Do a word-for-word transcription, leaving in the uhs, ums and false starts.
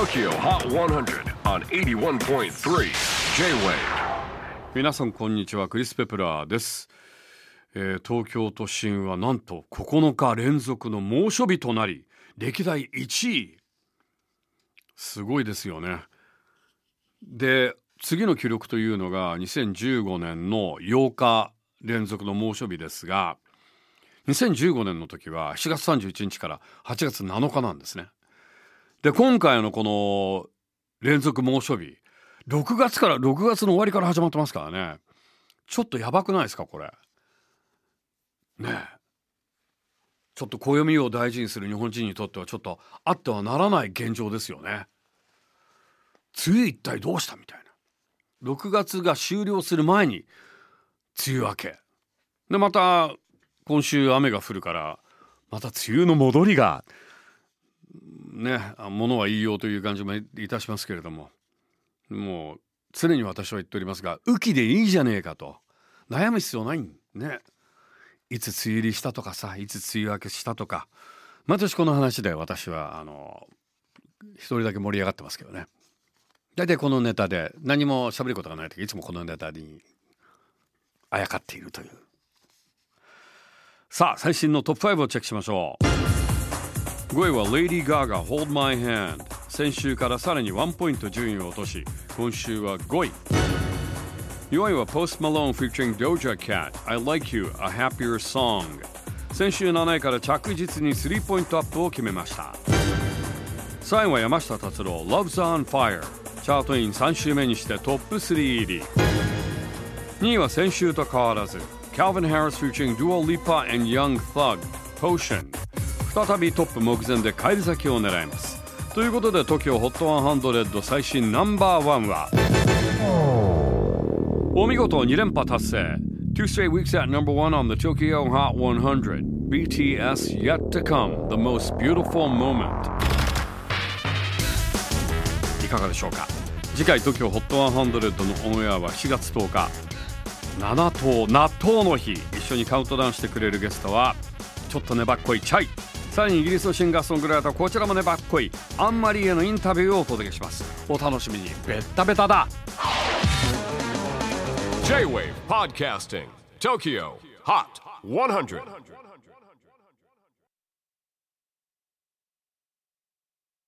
Tokyo Hot ひゃく on はちじゅういってんさん J-Wave。 皆さんこんにちは、クリス・ペプラーです。えー、東京都心はなんとここのか連続の猛暑日となり、歴代いちい。すごいですよね。で、次の記録というのがにせんじゅうごねんのようか連続の猛暑日ですが、にせんじゅうごねんの時はしちがつさんじゅういちにちからはちがつなのかなんですね。で、今回のこの連続猛暑日、ろくがつからろくがつの終わりから始まってますからね。ちょっとやばくないですかこれね。えちょっと暦を大事にする日本人にとってはちょっとあってはならない現状ですよね。梅雨一体どうしたみたいな。ろくがつが終了する前に梅雨明けで、また今週雨が降るからまた梅雨の戻りがね、ものは言いようという感じもいたしますけれども、もう常に私は言っておりますが、雨季でいいじゃねえかと悩む必要ないんね。いつ梅雨入りしたとかさ、いつ梅雨明けしたとか、毎年この話で私はあの一人だけ盛り上がってますけどね。だいたいこのネタで何も喋ることがないとき、いつもこのネタにあやかっているという。さあ、最新のトップごをチェックしましょう。ごいは Lady Gaga Hold My Hand。 先週からさらにワンポイント順位を落とし、今週はごい。よんいは Post Malone featuring Doja Cat I Like You A Happier Song。 先週なないから着実にスリーポイントアップを決めました。さんいは山下達郎 Love's on Fire。 チャートインさん週目にしてトップスリー入り。にいは先週と変わらず Calvin Harris featuring Dua Lipa and Young Thug Potion。 再びトップ目前で返り咲きを狙います。ということで TOKYO ホットひゃく最新ナンバーワンはお見事に連覇達成。 Two straight weeks at number one on the Tokyo Hot ひゃく ビーティーエス Yet to Come The Most Beautiful Moment。 いかがでしょうか。次回 TOKYO ホットひゃくのオンエアはしがつとおか、ななとう納豆の日。一緒にカウントダウンしてくれるゲストはちょっと粘っこいチャイ、さらにイギリスのシンガーソングライター、こちらも粘っこいアンマリーへのインタビューをお届けします。お楽しみに。ベッタベタだ。 J-Wave Podcasting Tokyo Hot ひゃく